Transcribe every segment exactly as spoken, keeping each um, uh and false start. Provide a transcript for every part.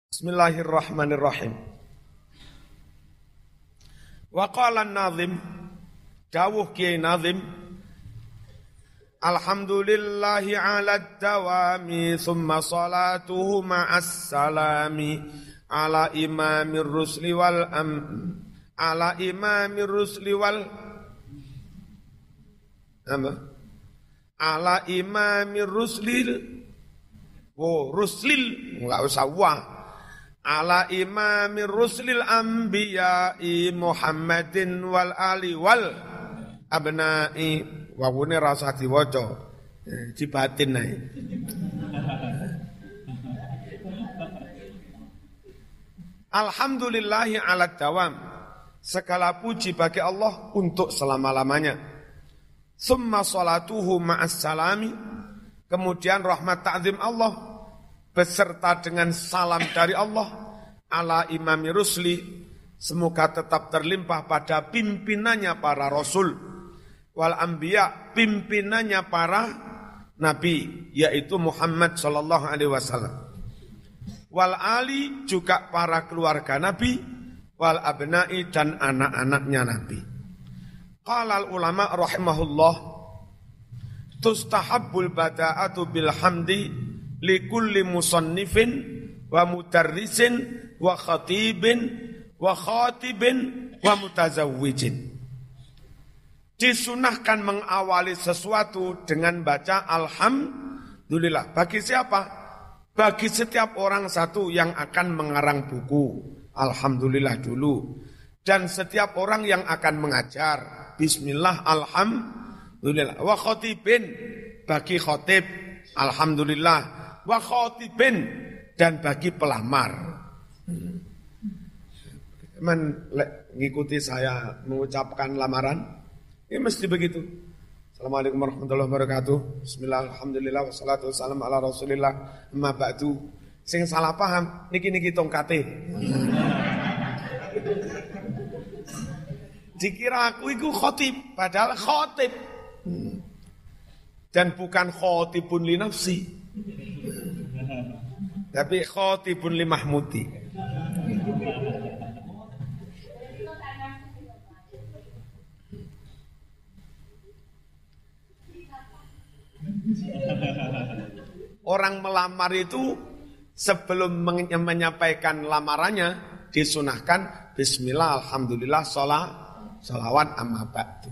Bismillahirrahmanirrahim. Wa qala an-nazim, dawuh Kiai Nazim, alhamdulillahi ala dawami thumma salatuhu ma'as salami ala imamir rusli wal am ala imamir rusli wal apa? Ala imamir ruslil oh ruslil enggak usah wah. Ala imamir ruslil anbiya'i Muhammadin wal ali wal abna'i wawune rasa diwaca dibatin ae. Alhamdulillahi ala dawam, segala puji bagi Allah untuk selama-lamanya. Summa salatuhu ma'as salami, kemudian rahmat ta'zim Allah beserta dengan salam dari Allah ala imami rusli, semoga tetap terlimpah pada pimpinannya para rasul wal anbiya, pimpinannya para nabi, yaitu Muhammad sallallahu alaihi wasallam, wal ali, juga para keluarga nabi, wal abna'i, dan anak-anaknya nabi. Qala al ulama rahimahullah, tustahabbul bada'atu bil hamdi likulli musannifin wa mudarrisin wa khatibin wa khatibin wa mutazawwijin. Disunahkan mengawali sesuatu dengan baca alhamdulillah. Bagi siapa? Bagi setiap orang satu yang akan mengarang buku, alhamdulillah dulu. Dan setiap orang yang akan mengajar, bismillah alhamdulillah. Wa khatibin, bagi khatib, alhamdulillah. Wa khatibin, dan bagi pelamar. Men ngikuti saya mengucapkan lamaran, ini mesti begitu. Assalamualaikum warahmatullahi wabarakatuh. Bismillah, alhamdulillah, wassalatu wassalamu ala rasulillah, amma ba'du. Sing salah paham, niki-niki tongkate. Dikira aku itu khatib, padahal khatib. Dan bukan khatibun li nafsi, tapi khatibun li mahmudi. Orang melamar itu sebelum menyampaikan lamarannya disunahkan bismillah, alhamdulillah, sholat, sholawat, amma ba'du.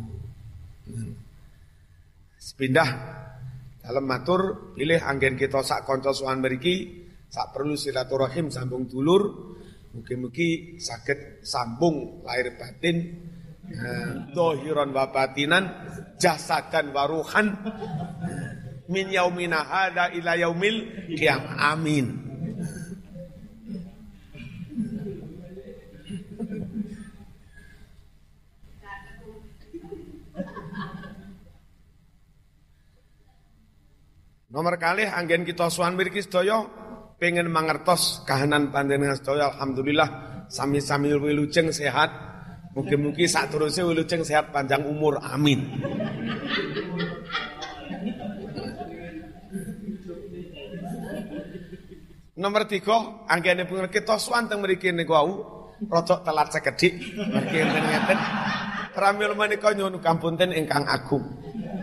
Sepindah dalam matur pilih anggen kita sak kanca suwan mriki sak perlu silaturahim sambung dulur, mugi-mugi saged sambung lahir batin, zahiran wa batinan, jasadan wa ruhan, min yaumina hada ila yaumil qiyamah. Amin. Nomor kalih anggen kita suwan mriki sedaya pengen mangertos kahanan panjenengan sedaya, alhamdulillah sami-sami wilujeng sehat. Mugi-mugi saterusé wilujeng sehat panjang umur. Amin. Nomor tiga, anggene pengen kita suwan teng mriki niku wau rada telat sekedhik mergi ngeten. Pramila menika nyuwun kampunten ingkang agung.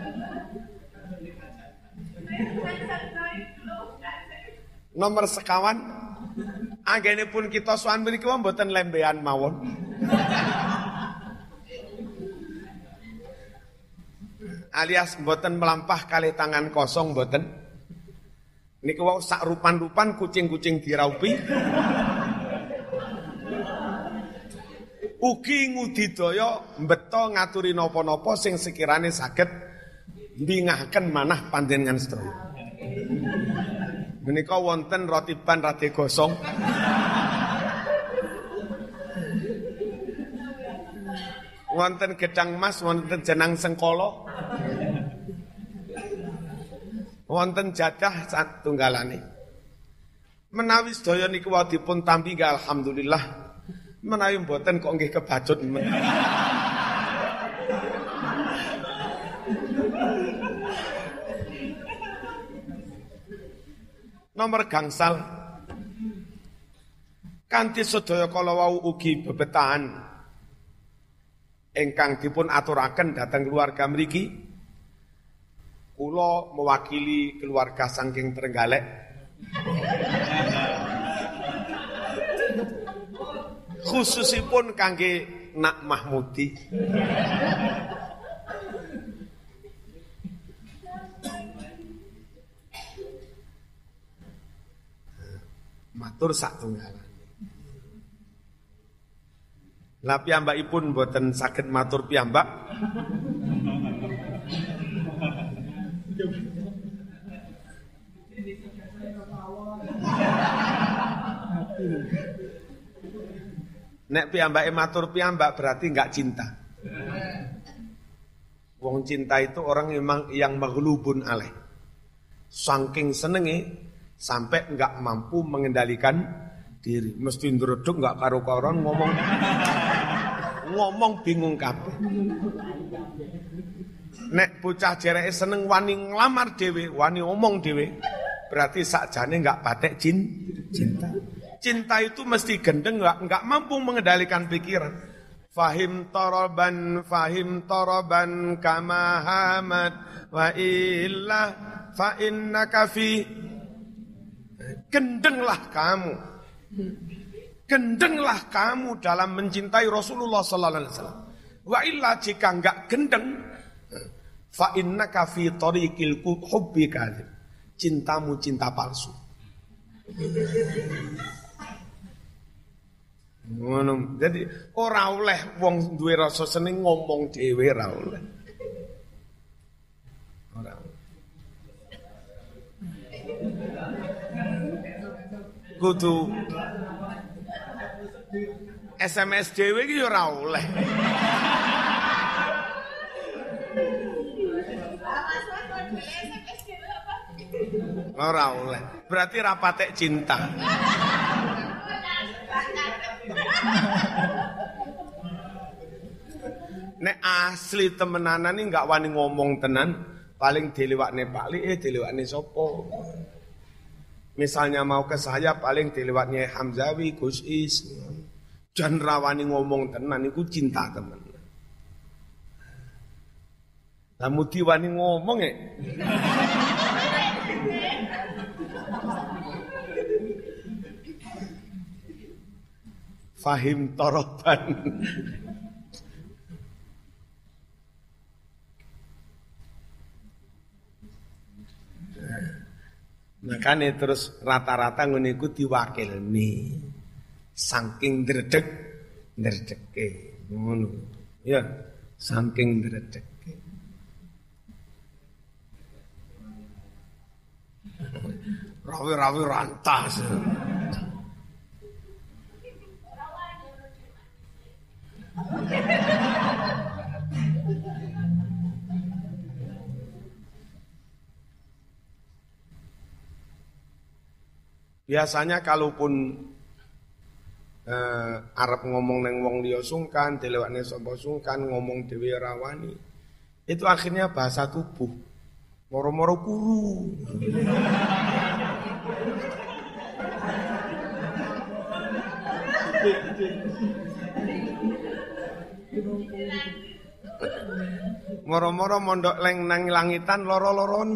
Nomor sekawan, anggene pun kita suwan mriki mboten lembean mawon. Alias mboten melampah kalih tangan kosong mboten. Niku wau sak rupan-rupan kucing-kucing diraupi. Ugi ngudidaya mbeta ngaturi napa-napa sing sekirane saged mbingahaken manah panjenengan sedaya. Menika wonten rotiban rade gosong. Wonten gedang mas, wonten jenang sengkolo. Wonten jadah satunggalane. Menawi sedaya niku wau dipun tampi alhamdulillah. Menawi mboten kok nggih kebacut men. Nomor gangsal, Kanthi sedaya kala wau ugi bebetahan ingkang dipun aturaken dhateng keluarga mriki, kula mewakili keluarga saking Trenggalek khususipun kangge Nak Mahmudi. Matur satunggalan. Lah piyambakipun boten saged matur piyambak. Nek piyambake matur piyambak berarti enggak cinta. Wong cinta itu orang memang yang maghlubun alaih. Saking senenge sampai enggak mampu mengendalikan diri. Mesti ndredeg enggak karo-karon ngomong ngomong bingung kabeh. Nek bocah jereke seneng wani nglamar dhewe, wani omong dhewe, berarti sakjane enggak patek jin cinta. Cinta itu mesti gendeng, enggak, enggak mampu mengendalikan pikiran. Fahim toroban, fahim toroban kama hamad wa illa fa innaka fi. Gendenglah kamu. Gendenglah kamu dalam mencintai Rasulullah sallallahu alaihi wasallam. Wa illa jika enggak gendeng, fa innaka fi tariqil hubbi kadzib. Cintamu cinta palsu. Ngono. Jadi ora oleh wong duwe rasa seneng ngomong dhewe ora oleh. Ora. Kudu S M S dhewe iki ora oleh. Ora oleh. Berarti ra patek cinta. Nek asli temenanan ini enggak wani ngomong tenan, paling dilewakne Pak Li, eh dilewakne sopo. Misalnya mau ke saya paling dilewakne Hamzawi, Gus Is. Jan rawani ngomong tenan iku cinta temen. Lah mudi wani ngomong e. Fahim toroban. Makanya terus rata-rata ngene iku diwakilni. Saking ndredeg, ndredege ngono. Ya, saking ndredege. Rawi-rawi rantas. Biasanya kalaupun eh, Arab ngomong neng wong liya sungkan, dilewakne sapa sungkan, ngomong dhewe rawani. Itu akhirnya bahasa tubuh. Moro-moro kuru. Moro-moro mondok leng nang langitan loro-loron.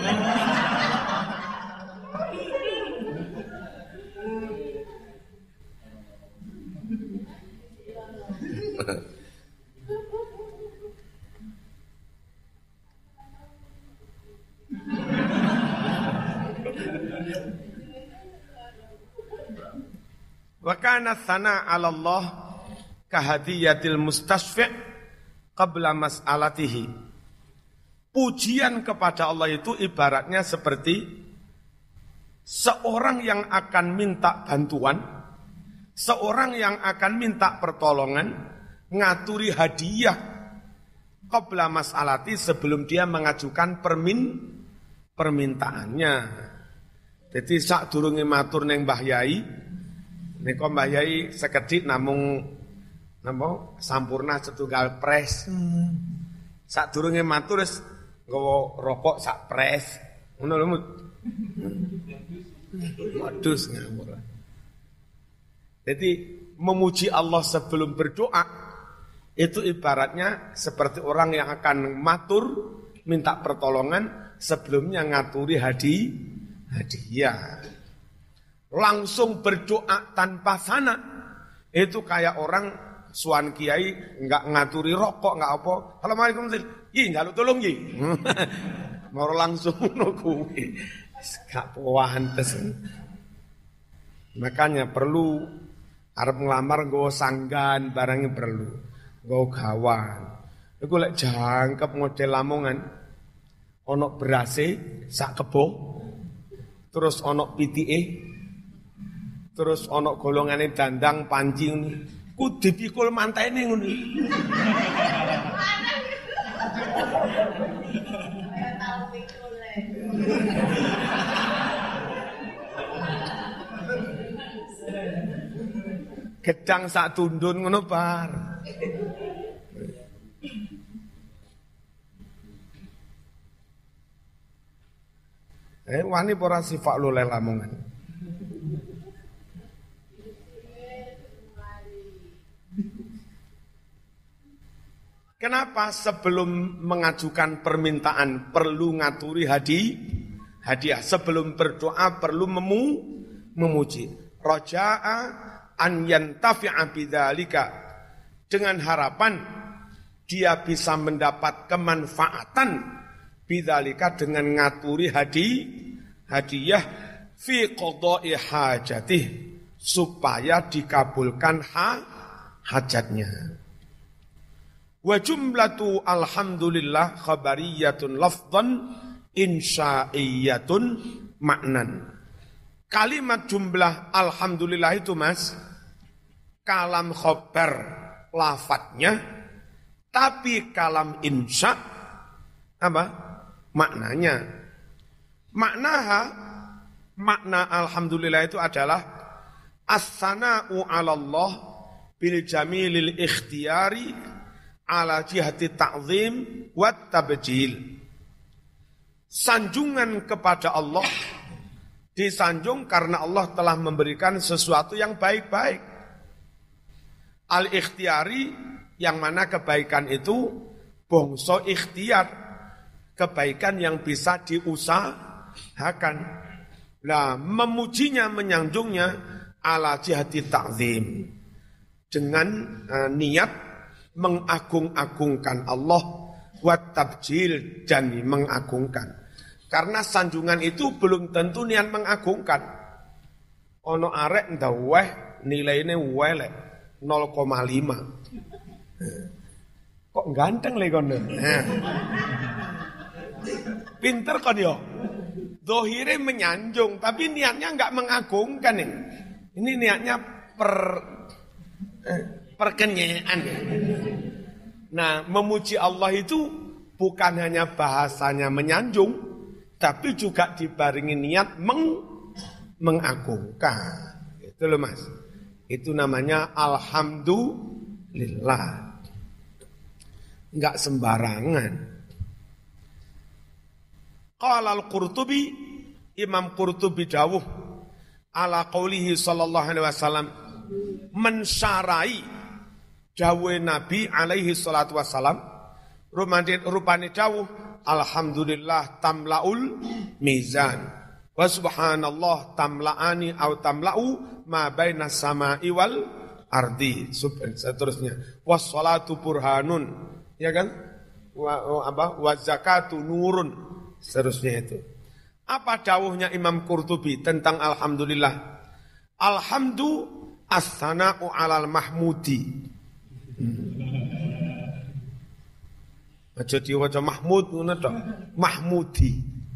Wa kana tsana 'ala Allah kahadiyatil mustasfi' qabla mas'alatihi. Pujian kepada Allah itu ibaratnya seperti seorang yang akan minta bantuan, seorang yang akan minta pertolongan, ngaturi hadiah qabla mas'alati sebelum dia mengajukan permin permintaannya. Jadi sak durunge matur ning Mbah Yai, nika Mbah Yai sekedhik namung napa sampurna setunggal pres. Hmm. Sak durunge matur wis nggawa rokok sak pres. Ngono lho. Modus ngawur. Jadi memuji Allah sebelum berdoa itu ibaratnya seperti orang yang akan matur minta pertolongan sebelumnya ngaturi hadi hadiah. Langsung berdoa tanpa sana itu kayak orang suan kiai enggak ngaturi rokok enggak apa. Assalamualaikum. Ih, njaluk tolong nggih. Mau langsung ngono kuwi. Gak pantes. Makanya perlu arep nglamar nggawa sanggan barangnya perlu. Nggawa gawan. Iku lek jangkep model Lamongan. Ono berase sak kebo. Terus ono pitike. Terus ono golongane dandang panci ngene. Ku dipikul mantene ngono. Gedang sak tundun ngono bar. Eh wani ora sifat lho Lamongan. Kenapa sebelum mengajukan permintaan perlu ngaturi hadi, hadiah. Sebelum berdoa perlu memu, memuji. Raja'a an yantafi'a bidzalika. Dengan harapan dia bisa mendapat kemanfaatan bidzalika dengan ngaturi hadi, hadiah fi qada'i hajatih supaya dikabulkan ha, hajatnya. Wa jumlatu alhamdulillah khabariyatun lafdhan insya'iyatun maknan. Kalimat jumlah alhamdulillah itu Mas, kalam khobar lafadznya, tapi kalam insya apa? Maknanya. Maknaha, makna alhamdulillah itu adalah as-sana'u 'ala Allah bil jamilil ikhtiyari ala jihati ta'zim wa tabjil. Sanjungan kepada Allah disanjung karena Allah telah memberikan sesuatu yang baik-baik. Al-ikhtiyari yang mana kebaikan itu bongso ikhtiar, kebaikan yang bisa diusahakan. Nah, memujinya, menyanjungnya ala jihati ta'zim dengan uh, niat mengagung-agungkan Allah wa tabjil dan mengagungkan. Karena sanjungan itu belum tentu niat mengagungkan. Ono arek ndaweh nilainya welek nol koma lima. Kok ganteng le kono. Pinter kan yo. Dohire menyanjung tapi niatnya enggak mengagungkan ini. Ini niatnya per eh, perkenyaan. Nah, memuji Allah itu bukan hanya bahasanya menyanjung, tapi juga dibarengi niat meng, mengagungkan. Itu loh Mas. Itu namanya alhamdulillah. Enggak sembarangan. Qala al-Qurtubi, Imam Qurtubi dawuh ala qaulihi sallallahu alaihi wasallam mensyarai dawuh Nabi alaihi salatu wassalam rupane dawuh alhamdulillah tamlaul mizan wa subhanallah tamlaani au tamlau ma baina samai wal ardi seterusnya wassalatu burhanun ya kan wa apa wa zakatu nurun seterusnya itu. Apa dawuhnya Imam Qurtubi tentang alhamdulillah? Alhamdu as-sana'u 'alal mahmudi. Aja diwaca Mahmud ngono to. Mahmudi.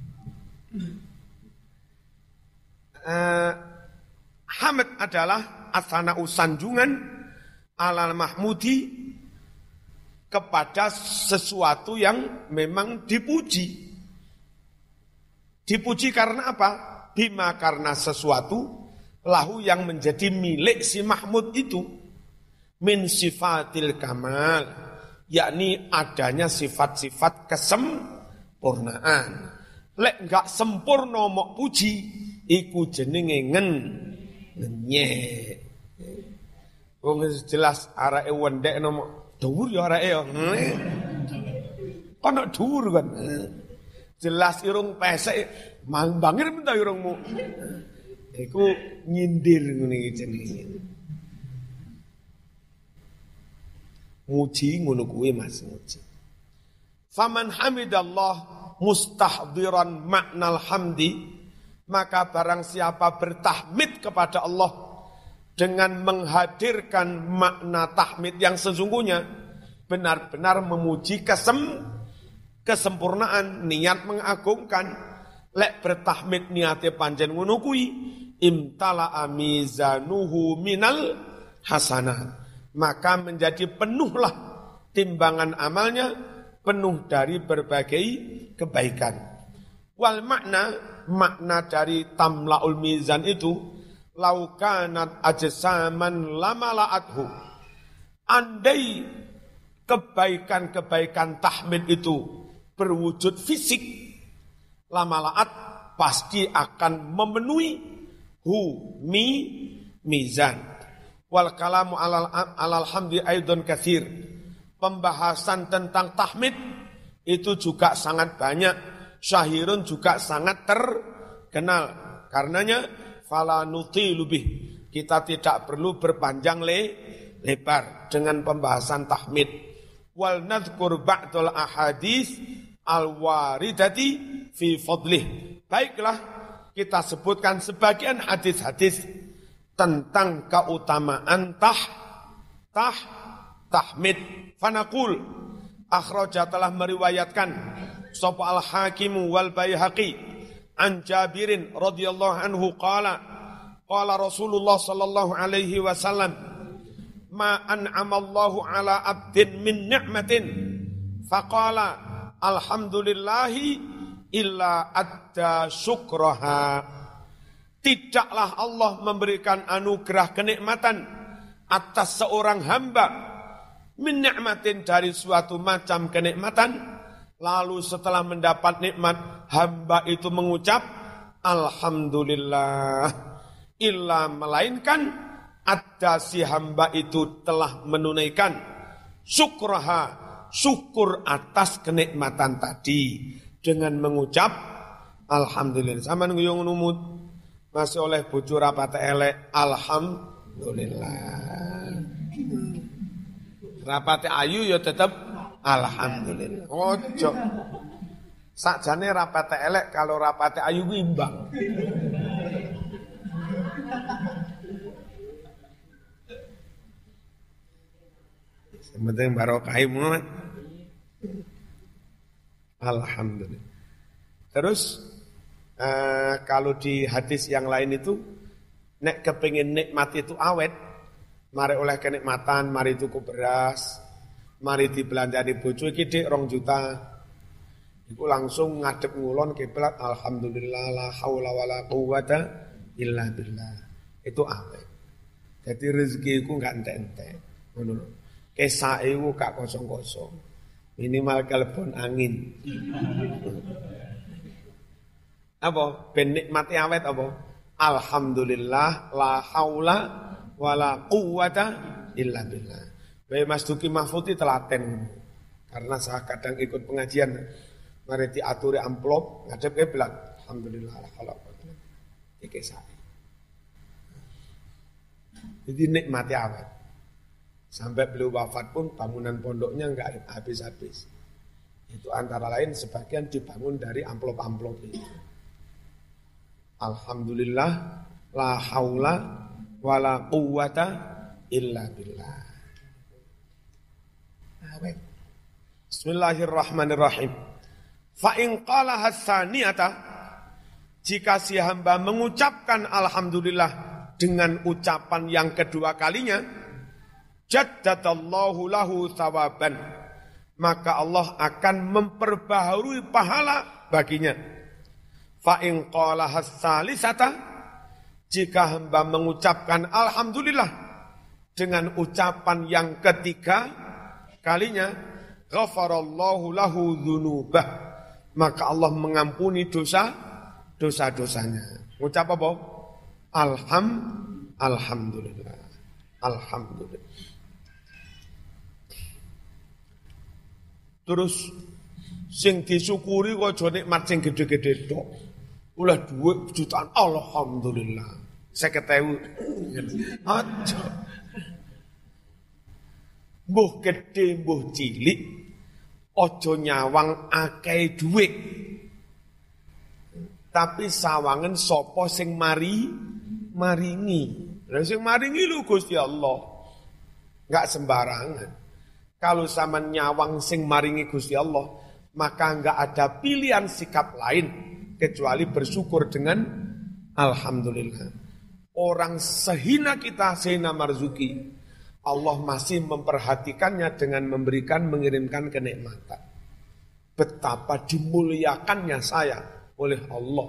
Uh, hamd adalah as-sana'u sanjungan 'alal mahmudi kepada sesuatu yang memang dipuji. Dipuji karena apa? Bima karena sesuatu lahu yang menjadi milik si Mahmud itu min sifatil kamal, yakni adanya sifat-sifat kesempurnaan. Lek enggak sempurna mok puji iku jenenge ngen ngenyek. Wong jelas areke wendek nomo dhuwur ya areke ya. Kono dhuwur kan. Jelas irung pesek bangir minta irungmu. Iku nyindir ngene iki jenenge. Muji ngono kuwi Mas muji. Faman hamidallah mustahdiran maknal hamdi, maka barang siapa bertahmid kepada Allah dengan menghadirkan makna tahmid yang sesungguhnya, benar-benar memuji kesem kesempurnaan, niat mengagungkan, lek bertahmid niate panjen ngono kuwi, imtala amizanuhu minal hasanah, maka menjadi penuhlah timbangan amalnya, penuh dari berbagai kebaikan. Wal makna, makna dari tamla'ul mizan itu, laukanat ajsaman lamala'athu, andai kebaikan-kebaikan tahmid itu berwujud fisik, lamala'at pasti akan memenuhi hu mi mizan. Wal kalamu alal alal hamdi aidon katsir. Pembahasan tentang tahmid itu juga sangat banyak, syahirun juga sangat terkenal. Karenanya fala nutilu bih, kita tidak perlu berpanjang le, lebar dengan pembahasan tahmid. Wal nadhkur ba'dul ahadits al-waridati fi fadlih. Baiklah, kita sebutkan sebagian hadis-hadis tentang keutamaan tah tah tahmid. Fanaqul, akhraja telah meriwayatkan sapa al-Hakim wal Baihaqi an Jabirin radhiyallahu anhu qala qala Rasulullah sallallahu alaihi wasallam ma an'amallahu ala abdin min ni'matin faqala alhamdulillahi illa adda syukraha. Tidaklah Allah memberikan anugerah kenikmatan atas seorang hamba min ni'matin, dari suatu macam kenikmatan, lalu setelah mendapat nikmat hamba itu mengucap alhamdulillah, illa melainkan ada si hamba itu telah menunaikan syukraha, syukur atas kenikmatan tadi dengan mengucap alhamdulillah. Sama nguyung numut masih oleh bojo rapat elek alhamdulillah. Rapate ayu ya tetap alhamdulillah. Ojo. Sakjane rapate elek kalau rapate ayu ku imbang. Sementing barokah Muhammad. Alhamdulillah. Terus eh, kalau di hadis yang lain itu nek kepengin nikmat itu awet, mari oleh kenikmatan, mari tuku beras, mari dibelanjani bojo iki dik rong juta. Iku langsung ngadep ngulon kiblat alhamdulillah la haula wala quwata illa billah. Itu awet. Jadi rezeki iku enggak entek-entek. Ngono lho. Kesake iku gak kosong-kosong. Minimal kalebon angin. Apa? Ben nikmati awet apa? Alhamdulillah la haula wala quwata illa billah. Bae Mas Duki Mahfuti telaten. Karena saya kadang ikut pengajian, mari diaturi amplop, ngadep kiblat. Alhamdulillah la haula wala quwata. Iki sae. Jadi nikmati awet. Sampai beliau wafat pun bangunan pondoknya enggak habis-habis. Itu antara lain sebagian dibangun dari amplop-amplop itu. Alhamdulillah la haula wala quwwata illa billah. Bismillahirrahmanirrahim. Fa in qala hasaniyata, jika si hamba mengucapkan alhamdulillah dengan ucapan yang kedua kalinya, jaddadallahu lahu thawaban, maka Allah akan memperbaharui pahala baginya. Fa in qala hasalisata, jika hamba mengucapkan alhamdulillah dengan ucapan yang ketiga kalinya, ghafarallahu lahu dzunubah, maka Allah mengampuni dosa dosa-dosanya. Ucap apa? Alham alhamdulillah. Alhamdulillah. Terus sing disyukuri kok aja nikmat sing gede-gede tok. Oleh dhuwit jutaan alhamdulillah. seket ewu. Aja. Mbuh gede mbuh cilik aja nyawang akeh dhuwit. Tapi sawangen sapa sing mari maringi. Lah sing maringi lho Gusti Allah. Enggak sembarangan. Kalau sama nyawang sing maringi Gusti Allah, maka enggak ada pilihan sikap lain kecuali bersyukur dengan alhamdulillah. Orang sehina kita, sehina marzuki, Allah masih memperhatikannya dengan memberikan, mengirimkan kenikmatan. Betapa dimuliakannya saya oleh Allah.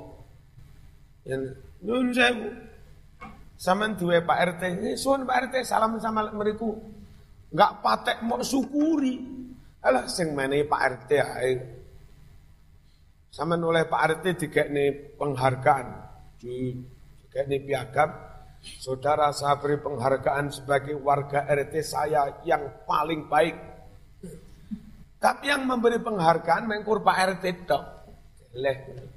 Nun sewu. Saman duwe Pak R T, eh, suwun Pak R T salam sama mriku. Enggak patek mau syukuri. Alah sing menehi Pak R T ae. Saman oleh Pak R T dikekne penghargaan, dikekne piagam. Saudara saya beri penghargaan sebagai warga R T saya yang paling baik. Tapi yang memberi penghargaan mengkur Pak R T tok. Leh.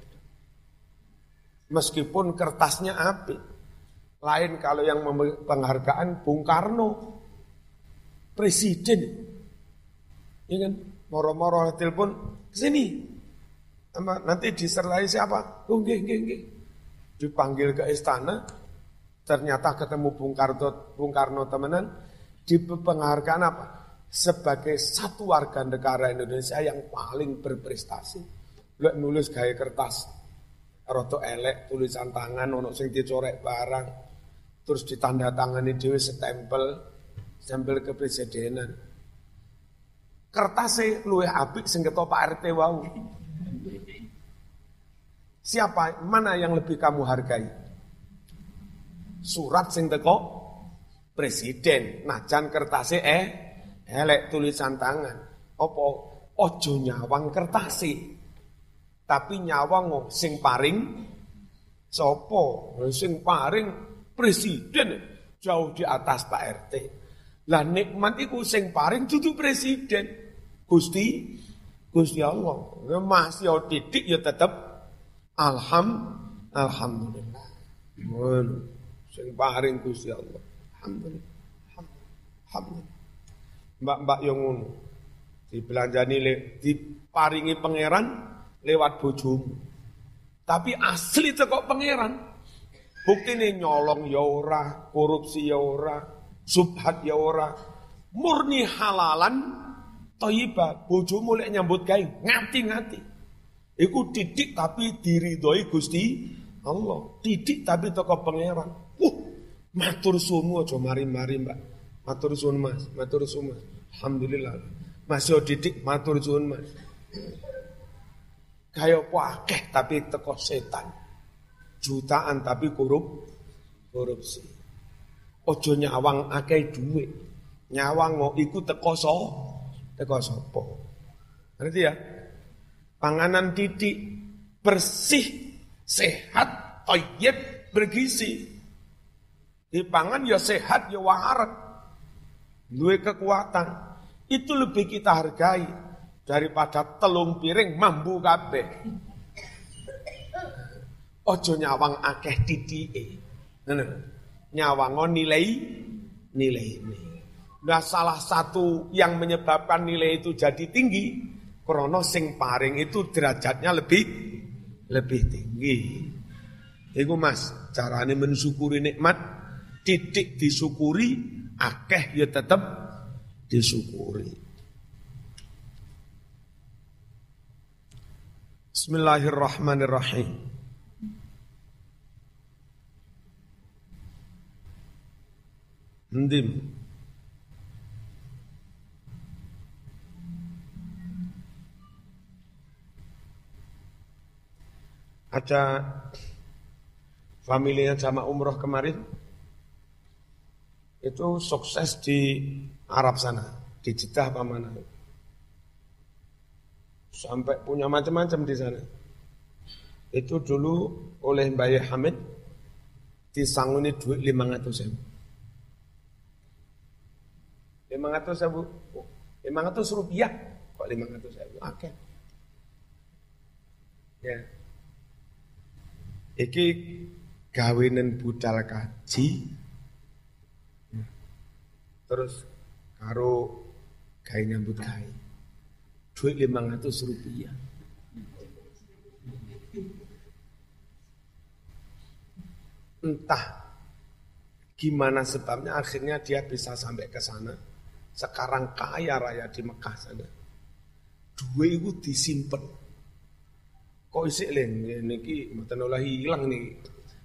Meskipun kertasnya apik. Lain kalau yang memberi penghargaan Bung Karno. Presiden. Iya kan? Moro-moro telepon kesini. Nanti disertai siapa? Oh, nggih, nggih, nggih. Dipanggil ke istana. Ternyata ketemu Bung Karno, Bung Karno temenan. Di penghargaan apa? Sebagai satu warga negara Indonesia yang paling berprestasi. Lek nulis gaya kertas. Roto elek, tulisan tangan, ono sing dicorek barang. Terus ditandatangani dhewe stempel. Stempel kepresidenan. Kertasnya luwih apik sing ketok Pak R T wau. Siapa, mana yang lebih kamu hargai? Surat sing teko presiden, najan kertasnya eh elek tulisan tangan. Apa ojo nyawang kertasnya. Tapi nyawang sing paring sopo, sing paring presiden jauh di atas Pak R T. Lah nikmat iku sing paring dudu presiden. Gusti Gusti Allah. Masih titik ya tetep alham alhamdulillah. Mun sing paring Gusti Allah. Alhamdulillah. Alhamdulillah. Mbak-mbak yang ngono dibelanjani le, diparingi pangeran lewat bojomu. Tapi asli teko pangeran. Buktine nyolong ya ora, korupsi ya ora, subhat ya ora, murni halalan thayyibah. Bojomu lek nyambut gawe ngati-ngati. Iku didik tapi diridhoi Gusti Allah. Didik tapi teko pangeran. Uh, matur suwun aja mari-mari, Mbak. Matur suwun, Mas. Matur suwun, Mas. Alhamdulillah. Mas yo didik matur suwun, Mas. Kaya apa akeh tapi teko setan. Jutaan tapi korup korupsi. Ojo nyawang akeh dhuwit. Nyawang mau iku teko so, teko sapa. Ngerti ya? Panganan didik, bersih, sehat, thayyib, bergizi. Dipangan ya sehat ya waharat. Duwe kekuatan. Itu lebih kita hargai daripada telung piring mambu kabeh. Ojo nyawang akeh titike. Ngono. Nyawang nilai nilai ini. Nah, salah satu yang menyebabkan nilai itu jadi tinggi krana sing paring itu derajatnya lebih lebih tinggi. Iku Mas, carane mensyukuri nikmat, titik disyukuri, akeh ya tetep disyukuri. Bismillahirrahmanirrahim. Ndim. Ada familinya jamaah umroh kemarin itu sukses di Arab sana, di Jeddah apa mana. Sampai punya macam-macam di sana. Itu dulu oleh Mbak Hamid disanguni duit lima ratus ribu. lima ratus ribu. lima ratus rupiah. Kok lima ratus ribu? Oke. Ya. Iki gawenan budal kaji. Terus karo gawe nyambut gawe. Duit lima ratus rupiah. Entah gimana sebabnya akhirnya dia bisa sampai ke sana. Sekarang kaya raya di Mekah sana. Duit itu disimpan. Kok isik len niki mboten oleh hilang nih.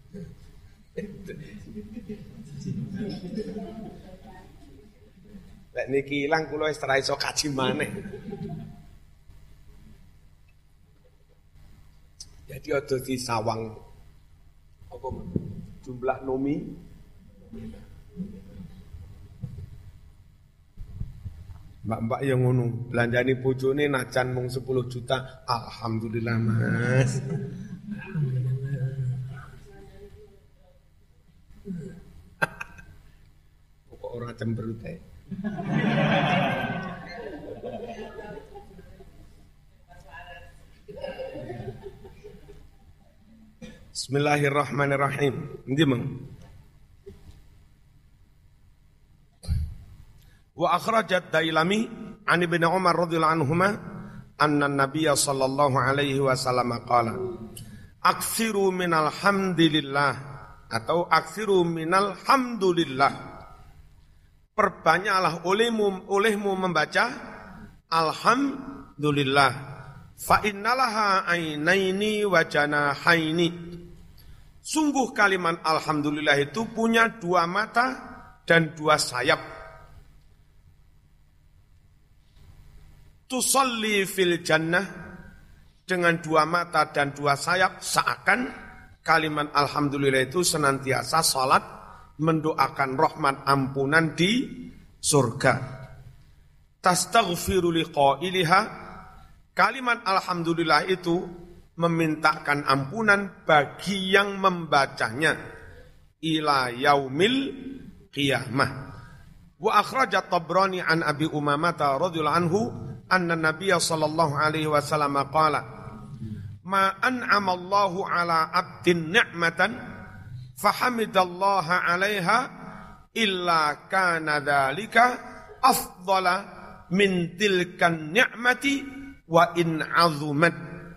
Lek niki ilang kula wis ora iso kaji maneh. Jadi ada di sawang apa jumlah nomi mbak-mbak yang ngono belanjani bojone najan mung sepuluh juta. Alhamdulillah Mas. Kok ora cemberut ae. Bismillahirrahmanirrahim. Endi meng? Wa akhrajat Dailami an Ibnu Umar radhiyallahu anhuma anna an-nabiy sallallahu alaihi wasallam qala aksiru minal hamdilillah atau aksiru minal hamdulillah. Perbanyaklah olehmu olehmu membaca alhamdulillah fa innalaha ainaini wa janahaini. Sungguh kalimat alhamdulillah itu punya dua mata dan dua sayap. Tusalli fil jannah, dengan dua mata dan dua sayap, seakan kalimat alhamdulillah itu senantiasa salat mendoakan rahmat ampunan di surga. Tastaghfiru liqailiha, kalimat alhamdulillah itu memintakan ampunan bagi yang membacanya ila yaumil qiyamah. Wa akhrajat Tabrani an Abi Umamah radhiyallahu anhu anna Nabiyya sallallahu alaihi wasallam qala ma an'ama Allahu ala 'abdin ni'matan fahamidallaha 'alaiha illa kana dzalika afdala min tilkan ni'mati wa in 'azumat.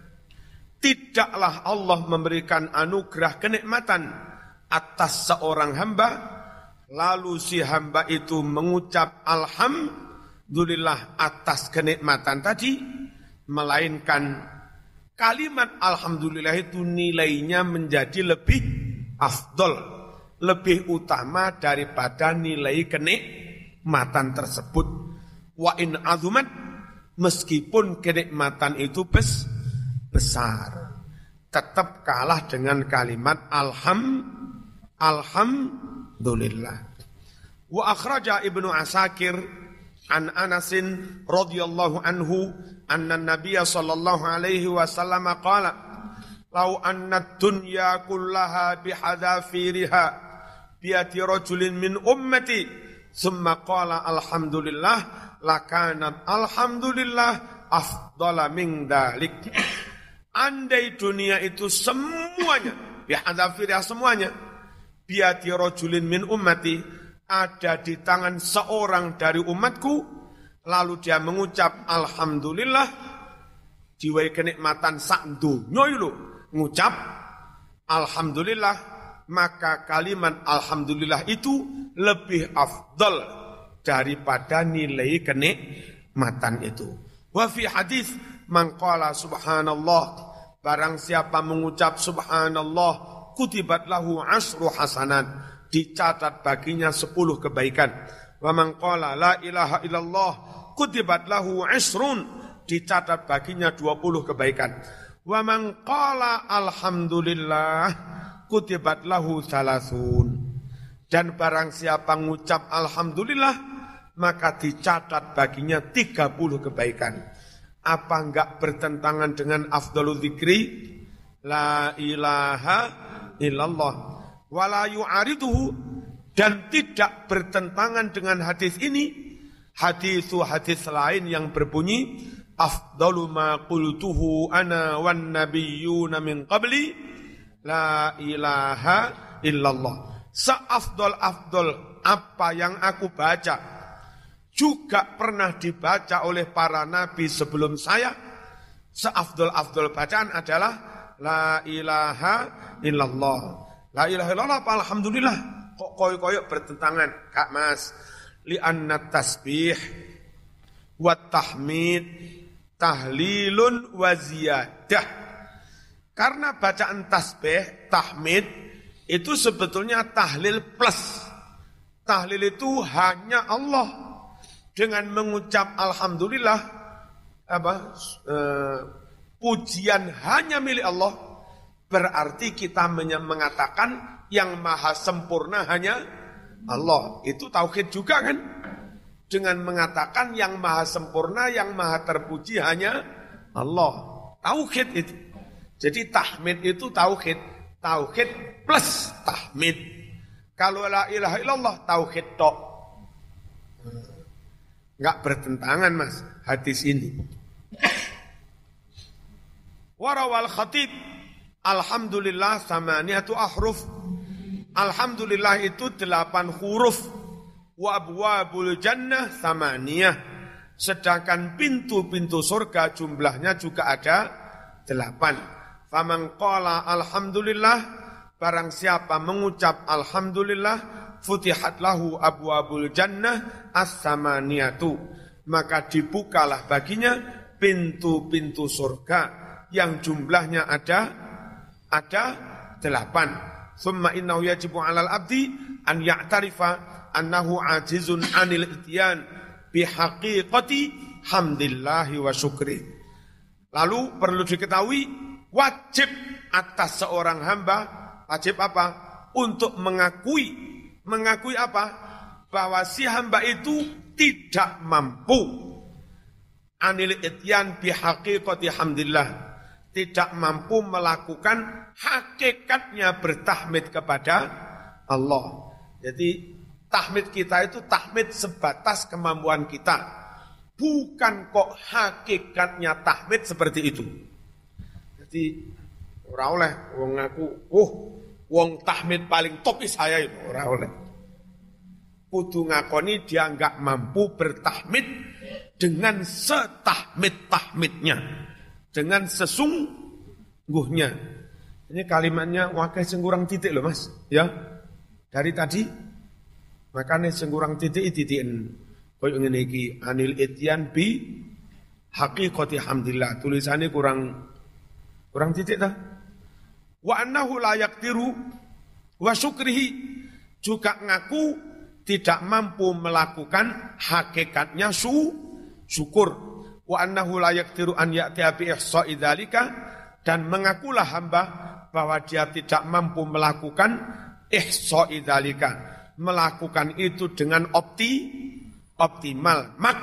Tidaklah Allah memberikan anugerah kenikmatan atas seorang hamba lalu si hamba itu mengucap alhamdulillah atas kenikmatan tadi, melainkan kalimat alhamdulillah itu nilainya menjadi lebih afdol, lebih utama daripada nilai kenikmatan tersebut. Wa in azumat, meskipun kenikmatan itu bes, besar, tetap kalah dengan kalimat alham, alhamdulillah. Wa akhraja Ibnu Asakir an Anasin radhiyallahu anhu anna Nabiyya sallallahu alaihi wasallam qala law anna dunya kullaha bihadafiriha biyati rajulin min ummati thumma qala alhamdulillah lakanat alhamdulillah afdala min dalik. Andai dunia itu semuanya bihadafiriha semuanya biyati rajulin min ummati, ada di tangan seorang dari umatku, lalu dia mengucap alhamdulillah, diwai kenikmatan sak donya lho, ngucap alhamdulillah, maka kalimat alhamdulillah itu lebih afdal daripada nilai kenikmatan itu. Wa fi hadis man qala subhanallah, barang siapa mengucap subhanallah, kutibat lahu asru hasanat, dicatat baginya sepuluh kebaikan. Wa man qala la ilaha illallah kutibat lahu isrun, dicatat baginya dua puluh kebaikan. Wa man qala alhamdulillah kutibat lahu salasun, dan barang siapa mengucap alhamdulillah maka dicatat baginya tiga puluh kebaikan. Apa enggak bertentangan dengan afdalul dzikri la ilaha illallah wala yu'ariduhu, dan tidak bertentangan dengan hadis ini Hadithu hadis lain yang berbunyi afdalu ma qultuhu ana wan nabiyyuna min qabli la ilaha illallah. Seafdol-afdol apa yang aku baca juga pernah dibaca oleh para nabi sebelum saya. Seafdol-afdol bacaan adalah la ilaha illallah. La ilaha illallah apa alhamdulillah? Kok koyok-koyok bertentangan? Kak Mas, li'anna tasbih wa tahmid tahlilun wa ziyadah. Karena bacaan tasbih, tahmid itu sebetulnya tahlil plus. Tahlil itu hanya Allah. Dengan mengucap alhamdulillah, apa eh, pujian hanya milik Allah, berarti kita mengatakan yang maha sempurna hanya Allah. Itu tauhid juga kan? Dengan mengatakan yang maha sempurna, yang maha terpuji hanya Allah. Tauhid itu. Jadi tahmid itu tauhid. Tauhid plus tahmid. Kalau la ilaha illallah tauhid tok. Enggak bertentangan Mas hadis ini. Warawal khatib alhamdulillah samaniyatu ahruf. Alhamdulillah itu delapan huruf. Wa abwabul jannah samaniyah. Sedangkan pintu-pintu surga jumlahnya juga ada delapan. Faman qala alhamdulillah, barang siapa mengucap alhamdulillah, futihat lahu abwabul jannah as-samaniyatu, maka dibukalah baginya pintu-pintu surga yang jumlahnya ada ada delapan. Summa innahu yajibu 'alal abdi an ya'tarifa annahu ajizun 'anil ityan bihaqiqati hamdillahi wa syukri. Lalu perlu diketahui wajib atas seorang hamba, wajib apa? Untuk mengakui, mengakui apa? Bahwa si hamba itu tidak mampu anil ityan bihaqiqati hamdillah, tidak mampu melakukan hakikatnya bertahmid kepada Allah. Jadi tahmid kita itu tahmid sebatas kemampuan kita, bukan kok hakikatnya tahmid seperti itu. Jadi ora oleh wong ngaku, oh wong tahmid paling top saya itu, ora oleh. Kudu ngakoni dia enggak mampu bertahmid dengan setahmid-tahmidnya, dengan sesungguhnya. Ini kalimatnya wakai sing kurang titik loh Mas, ya. Dari tadi makanya sing kurang titik titiken koyo ngene iki anil ityan bi haqiqati hamdillah. Tulisannya kurang kurang titik dah. Wa annahu la yaqdiru wa syukrihi, juga ngaku tidak mampu melakukan hakikatnya su syukur. Wa annahu la yaqdiru an ya'tiya bi ihsa'i dzalika, dan mengakulah hamba bahwa dia tidak mampu melakukan ihsa'i dzalika, melakukan itu dengan opti optimal, mak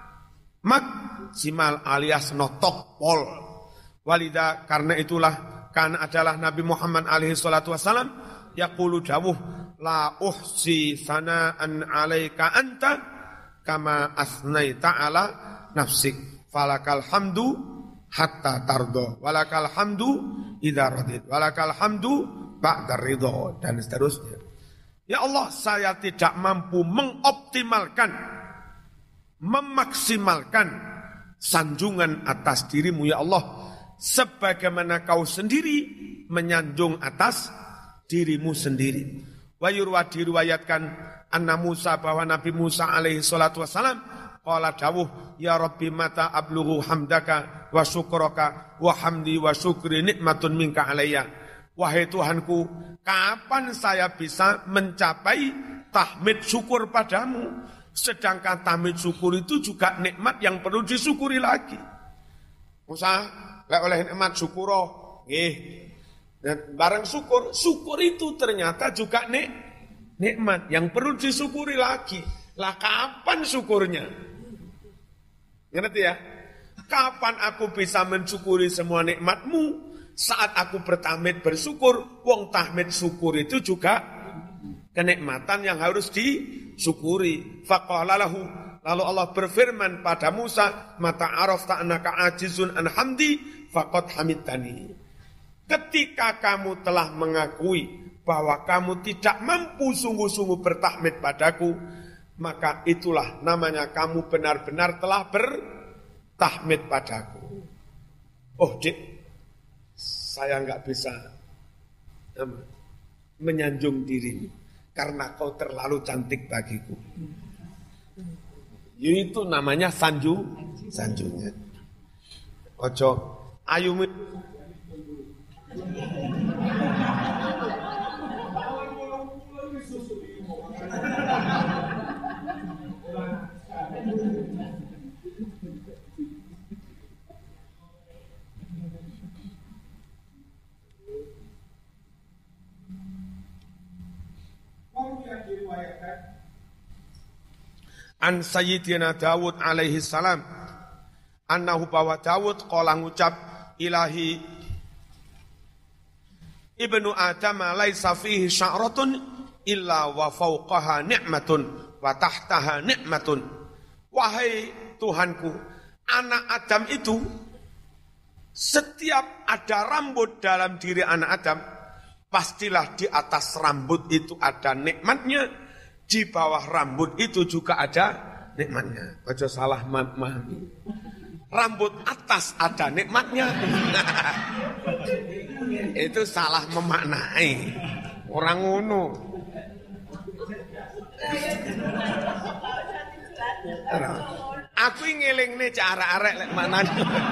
maksimal alias notok pol. Walida, karena itulah, karena adalah Nabi Muhammad alaihi salatu wasalam yaqulu dawuh la uhsi sana'an alaika anta kama asnaita ala nafsik falakal hamdu hatta tardo walakal hamdu idza radid walakal hamdu ba'da ridho, dan seterusnya. Ya Allah, saya tidak mampu mengoptimalkan, memaksimalkan sanjungan atas dirimu ya Allah, sebagaimana kau sendiri menyanjung atas dirimu sendiri. Wa yurwa, diriwayatkan anna Musa, bahwa Nabi Musa alaihi salatu wassalam qala dawuh ya Rabbi mata ablughu hamdaka wa syukraka wa hamdi wa syukri nikmatun minka alayya. Wahai Tuhanku, kapan saya bisa mencapai tahmid syukur padamu, sedangkan tahmid syukur itu juga nikmat yang perlu disyukuri lagi. Musa lek oleh nikmat syukuro, nggih. Dan barang syukur, syukur itu ternyata juga nik, nikmat yang perlu disyukuri lagi. Lah kapan syukurnya? Ngerti ya? Kapan aku bisa mensyukuri semua nikmatmu? Saat aku bertahmid bersyukur. Wong tahmid syukur itu juga kenikmatan yang harus disyukuri. Faqala lahu, Lalu Allah berfirman pada Musa, "Mata arafta annaka ajizun an hamdi faqad hamidtani." Ketika kamu telah mengakui bahwa kamu tidak mampu sungguh-sungguh bertahmid padaku, maka itulah namanya kamu benar-benar telah bertahmid padaku. Oh, Dik, saya enggak bisa um, menyanjung dirimu karena kau terlalu cantik bagiku. Itu namanya sanju, sanjungnya. Ojo ayu. An Sayyidina Dawud alaihi salam annahu bahwa Dawud qala ngucap ilahi ibnu Adam laisa fihi sya'ratun illa wa fawqaha ni'matun wa tahtaha ni'matun. Wahai Tuhanku, anak Adam itu setiap ada rambut dalam diri anak Adam, pastilah di atas rambut itu ada nikmatnya. Di bawah rambut itu juga ada nikmatnya. Ojo salah memahami. Rambut atas ada nikmatnya. Itu salah memaknai. Orang ngono. Aku ngelingne cara arek lek maknane.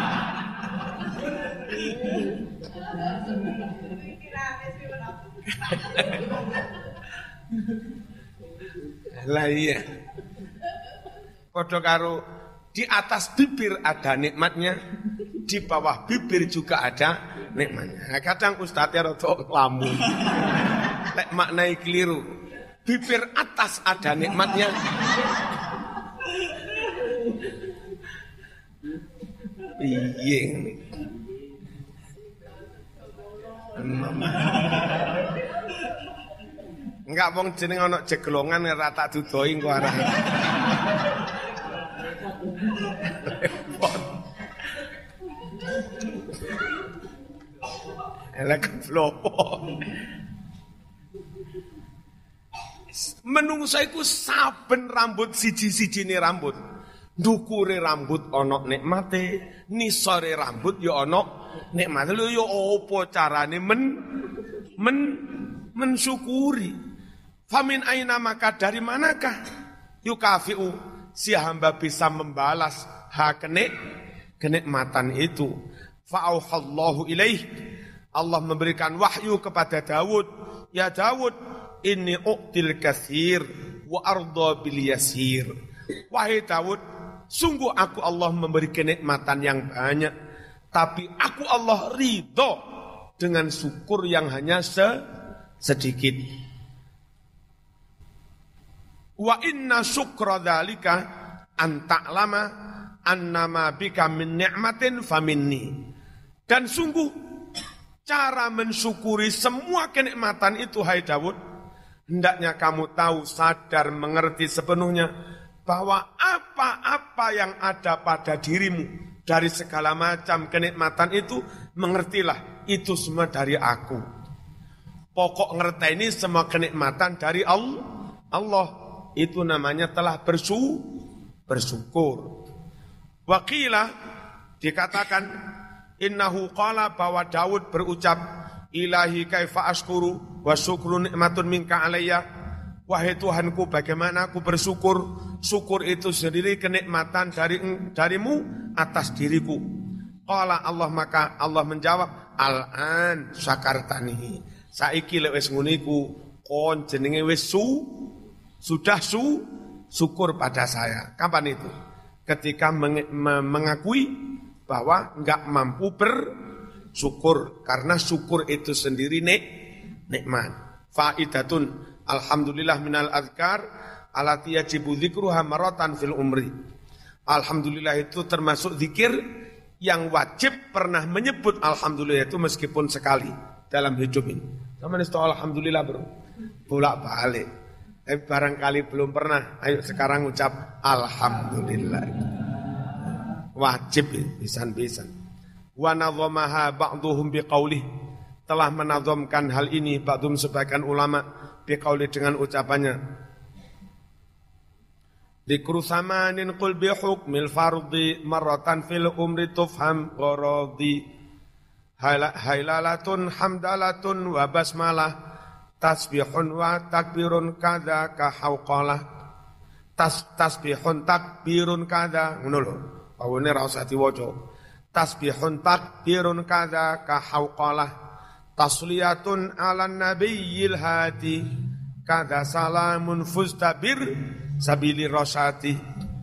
Lah iya. Padha karo di atas bibir ada nikmatnya, di bawah bibir juga ada nikmatnya. Nah, kadang ustadznya rada lamun. Lek maknai keliru. Bibir atas ada nikmatnya. Iya. Enggak wong jeneng ana jeglongan ora tak dudoi engko arah. Elek flopo. Menungso iku saben rambut siji-sijine rambut. Ndukure rambut ana nikmate, nisore rambut ya ana nikmate. Lho ya apa carane men men mensyukuri? Famin aina maka dari manakah yukafi'u si hamba bisa membalas hak kenik kenikmatan itu? Fa'auhallahu ilaih, Allah memberikan wahyu kepada Dawud, ya Dawud, inni uqtil katsir wa arda bil yasir. Wahai Dawud, sungguh aku Allah memberi kenikmatan yang banyak, tapi aku Allah ridho dengan syukur yang hanya se sedikit. Wa inna syukra dzalika an ta'lama annama bika min ni'matin faminni. Dan sungguh cara mensyukuri semua kenikmatan itu, hai Dawud, hendaknya kamu tahu, sadar, mengerti sepenuhnya bahwa apa-apa yang ada pada dirimu dari segala macam kenikmatan itu, mengertilah itu semua dari aku. Pokok ngerti ini semua kenikmatan dari Allah. Allah itu namanya telah bersu, bersyukur. Waqilah dikatakan innahu qala, bahwa Daud berucap, ilahi kaifa ashkuru wa syukru nikmatun minka alayya. Wahai Tuhanku, bagaimana aku bersyukur? Syukur itu sendiri kenikmatan dari darimu atas diriku. Qala Allah, maka Allah menjawab, al-an syakartani. Saiki lek wis ngene iku kon jenenge wis su sudah su syukur pada saya. Kapan itu? Ketika meng, me, mengakui bahwa enggak mampu bersyukur, karena syukur itu sendiri nik nikmat. Faidatun, alhamdulillah minal azkar alati yajibu dzikruha maratan fil umri. Alhamdulillah itu termasuk zikir yang wajib pernah menyebut alhamdulillah itu meskipun sekali dalam hidup ini. Sama nih alhamdulillah bro, bolak balik. Eh, barangkali belum pernah, ayo sekarang ucap alhamdulillah. Wajib pisan-pisan. Wa nadhamaha ba'dhum biqaulih, telah menazamkan hal ini ba'dhum sebagian ulama biqauli dengan ucapannya. Dzikru samanin qul bi hukmil fardhi marratan fil umri tufham gharadi. Hailalatun hamdalatun wa basmalah tasbihun wa takbirun kada ka hauqalah. Tas tasbihun takbirun kada ngono lho. Awene ra usah diwaca. Tasbihun takbirun kada ka hauqalah. Tasliyatun ala nabiyil hadi kada salamun fustabir sabili rosyati.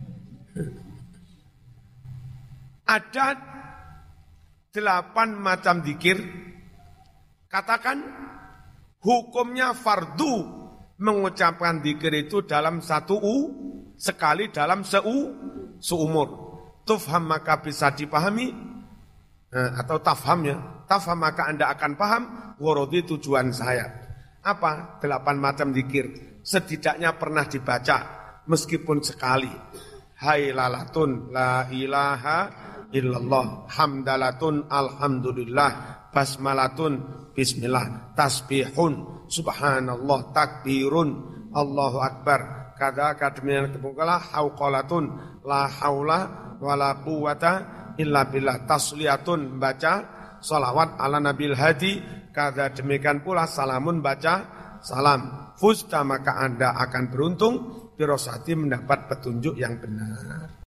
Ada delapan macam zikir. Katakan hukumnya fardu mengucapkan zikir itu dalam satu u, sekali dalam seu, seumur. Tufham maka bisa dipahami, nah, atau tafhamnya. Tafham maka Anda akan paham, warodi tujuan saya. Apa? Delapan macam zikir. Setidaknya pernah dibaca, meskipun sekali. Hailalatun la ilaha illallah. Hamdalatun alhamdulillah. Basmalatun bismillah, tasbihun, subhanallah, takbirun, Allahu akbar. Kada kademian kepungkala hauqalatun, la haula wala quwata illa billah. Tasliyatun, baca salawat ala nabil hadi. Kada demikian pula salamun, baca salam. Fusta maka Anda akan beruntung, birosati mendapat petunjuk yang benar.